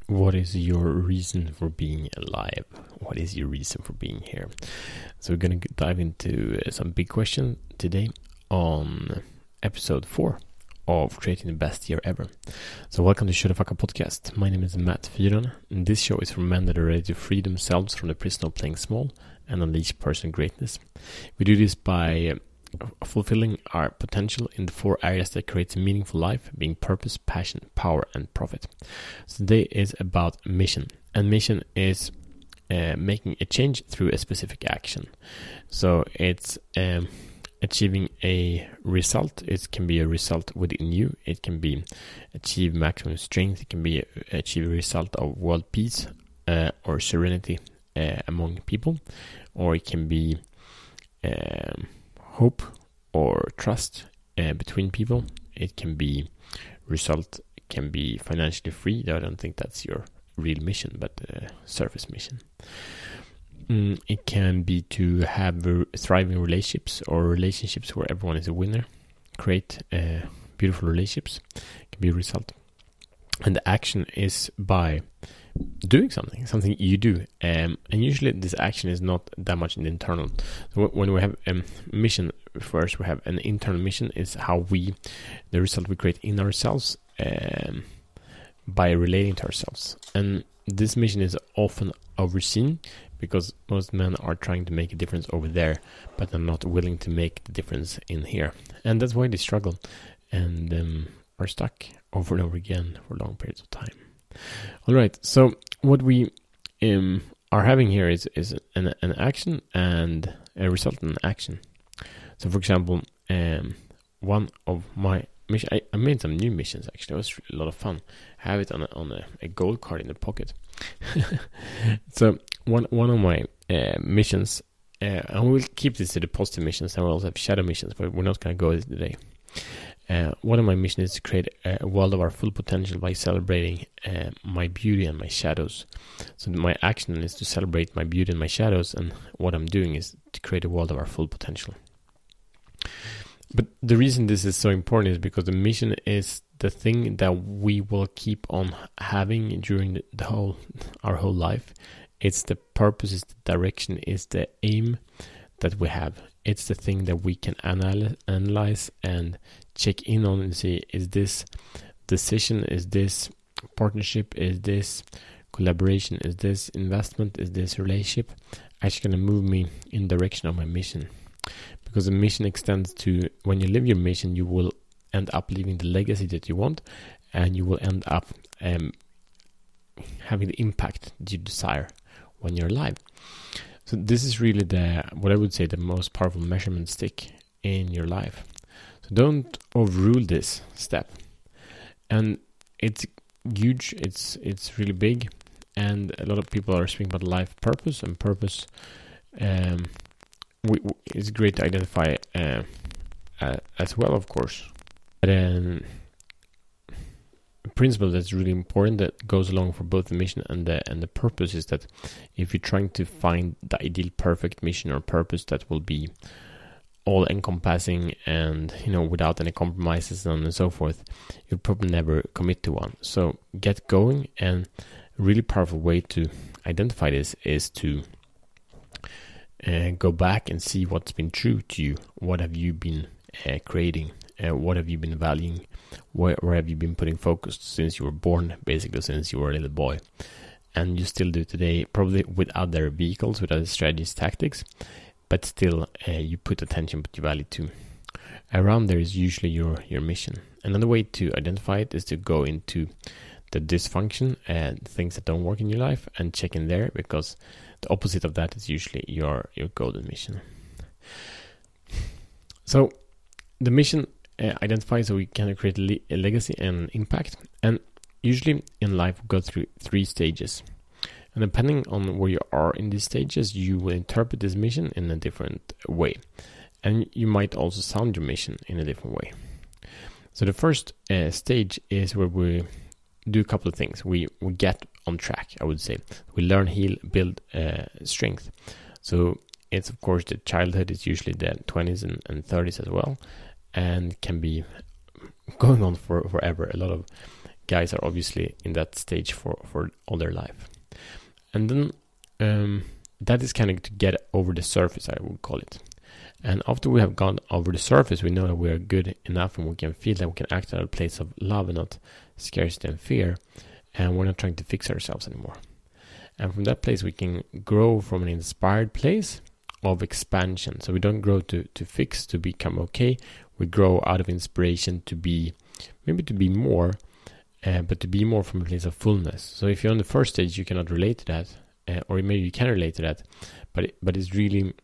What is your reason for being alive? What is your reason for being here? So we're going to dive into some big questions today on episode 4 of Creating the Best Year Ever. So welcome to Shut the Fuck Up Podcast. My name is Matt Fyron, and this show is for men that are ready to free themselves from the prison of playing small and unleash personal greatness. We do this by fulfilling our potential in the 4 areas that creates a meaningful life, being purpose, passion, power, and profit. So today is about mission, and mission is making a change through a specific action. So it's achieving a result. It can be a result within you. It can be achieve maximum strength. It can be achieve a result of world peace or serenity among people, or it can be hope or trust between people. It can be result, can be financially free. I don't think that's your real mission, but surface mission. It can be to have thriving relationships or relationships where everyone is a winner. Create beautiful relationships can be a result. And the action is by doing something you do. And usually this action is not that much in the internal. So when we have a mission, first we have an internal mission, is how the result we create in ourselves by relating to ourselves. And this mission is often overseen because most men are trying to make a difference over there, but are not willing to make the difference in here. And that's why they struggle and are stuck over and over again for long periods of time. All right, so what we are having here is an action and a result in action. So, for example, one of my missions, I made some new missions actually. It was a lot of fun. I have it on a gold card in the pocket. So, one of my missions, and we'll keep this to the positive missions, and we'll also have shadow missions, but we're not going to go with it today. One of my missions is to create a world of our full potential by celebrating my beauty and my shadows. So my action is to celebrate my beauty and my shadows, and what I'm doing is to create a world of our full potential. But the reason this is so important is because the mission is the thing that we will keep on having during our whole life. It's the purpose, it's the direction, it's the aim that we have. It's the thing that we can analyze and check in on and see, is this decision, is this partnership, is this collaboration, is this investment, is this relationship actually going to move me in the direction of my mission? Because the mission extends to, when you live your mission, you will end up leaving the legacy that you want, and you will end up having the impact that you desire when you're alive. So this is really what I would say the most powerful measurement stick in your life. So don't overrule this step. And it's huge, it's really big, and a lot of people are speaking about life purpose, and purpose it's great to identify as well, of course. But a principle that's really important that goes along for both the mission and the purpose is that if you're trying to find the ideal perfect mission or purpose that will be all encompassing and without any compromises and so forth, you'll probably never commit to one. So get going, and a really powerful way to identify this is to go back and see what's been true to you. What have you been creating? What have you been valuing? Where have you been putting focus since you were born, basically since you were a little boy? And you still do today, probably with other vehicles, with other strategies, tactics, but still you put attention, put your value to. Around there is usually your mission. Another way to identify it is to go into the dysfunction and things that don't work in your life and check in there, because the opposite of that is usually your golden mission. So the mission identifies so we can create a legacy and impact. And usually in life we go through 3 stages. And depending on where you are in these stages, you will interpret this mission in a different way. And you might also sound your mission in a different way. So the first stage is where we do a couple of things. We get on track, I would say. We learn, heal, build strength. So it's, of course, the childhood is usually the 20s and 30s as well, and can be going on for forever. A lot of guys are obviously in that stage for all their life. And then that is kind of to get over the surface, I would call it. And after we have gone over the surface, we know that we are good enough and we can feel that we can act out of a place of love and not scarcity and fear. And we're not trying to fix ourselves anymore. And from that place, we can grow from an inspired place of expansion. So we don't grow to fix, to become okay. We grow out of inspiration to be, maybe to be more, but to be more from a place of fullness. So if you're on the first stage, you cannot relate to that, or maybe you can relate to that, but it's really,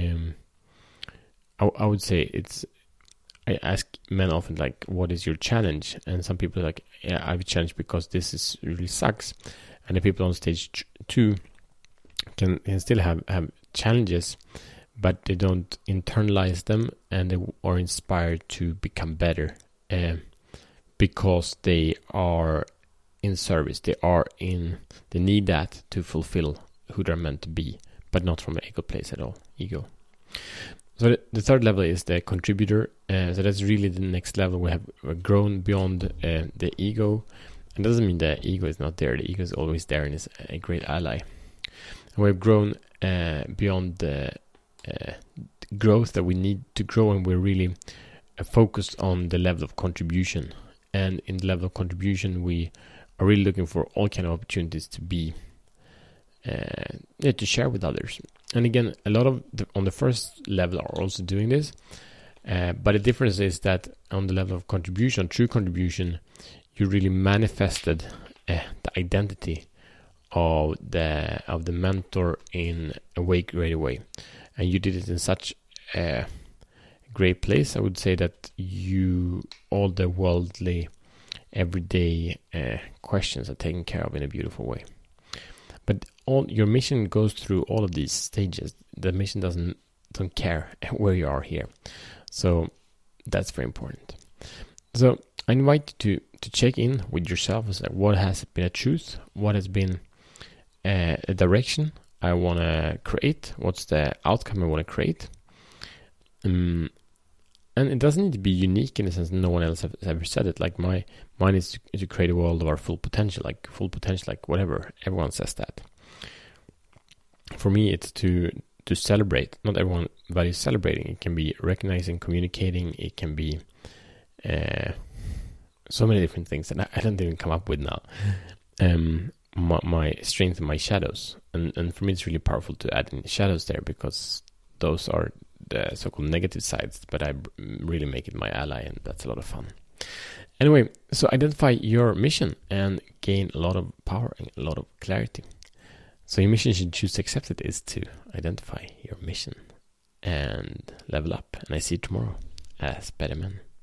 I would say I ask men often, like, what is your challenge? And some people are like, yeah, I have a challenge because this really sucks. And the people on stage 2 can still have challenges, but they don't internalize them, and they are inspired to become better because they are in service. They need that to fulfill who they're meant to be, but not from an ego place at all. Ego. So the third level is the contributor. So that's really the next level. We have grown beyond the ego. It doesn't mean the ego is not there. The ego is always there and is a great ally. And we've grown beyond the growth that we need to grow, and we're really focused on the level of contribution. And in the level of contribution, we are really looking for all kind of opportunities to be to share with others. And again, a lot of on the first level are also doing this, but the difference is that on the level of contribution, true contribution, you really manifested the identity of the mentor in a great way, and you did it in such a great place. I would say that all the worldly, everyday questions are taken care of in a beautiful way. But your mission goes through all of these stages. The mission don't care where you are here, so that's very important. So I invite you to check in with yourself. It's like, what has been a truth? What has been a direction I want to create? What's the outcome I want to create? And it doesn't need to be unique in the sense that no one else has ever said it. Like mine is to create a world of our full potential, like whatever. Everyone says that. For me, it's to celebrate. Not everyone values celebrating. It can be recognizing, communicating. It can be so many different things that I don't even come up with now. My strength and my shadows. And for me, it's really powerful to add in shadows there, because those are the so-called negative sides, but I really make it my ally, and that's a lot of fun. Anyway, so identify your mission and gain a lot of power and a lot of clarity. So your mission, should choose to accept it, is to identify your mission and level up. And I see you tomorrow as better men.